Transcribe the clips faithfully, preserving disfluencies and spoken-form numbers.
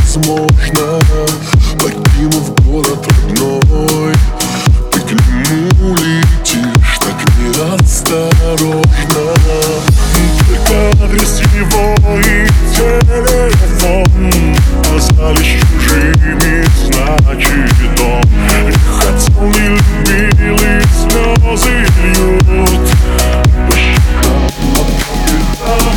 невозможно, покинув город родной. Ты к нему летишь так неосторожно. Только адрес его и телефон остались чужими, значит он не хотел, не любил и слезы льют по щекам, по щекам.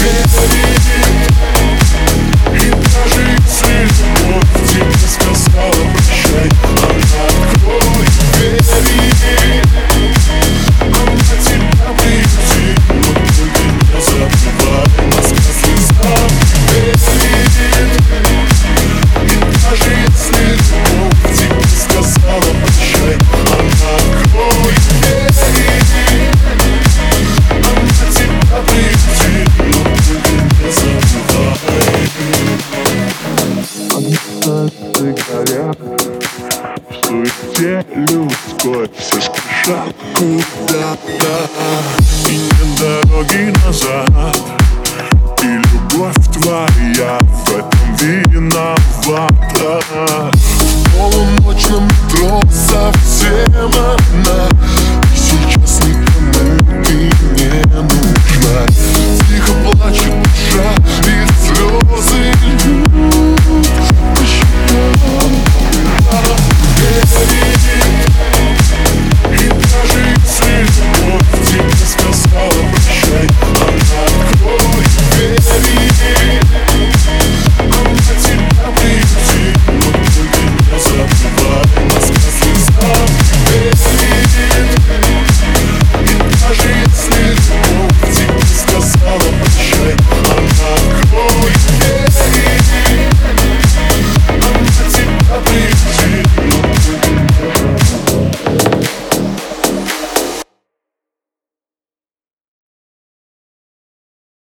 И даже если любовь тебе сказала прощай, она откроет двери, она тебя приютит, но только не забывай, Москва слезам верит. И даже если любовь тебе сказала прощай, она откроет двери, она тебя приютит, но только не забывай. Огни горят в суете людской, все спешат куда-то, и нет дороги назад. И любовь твоя в этом виновата. В полуночном метро совсем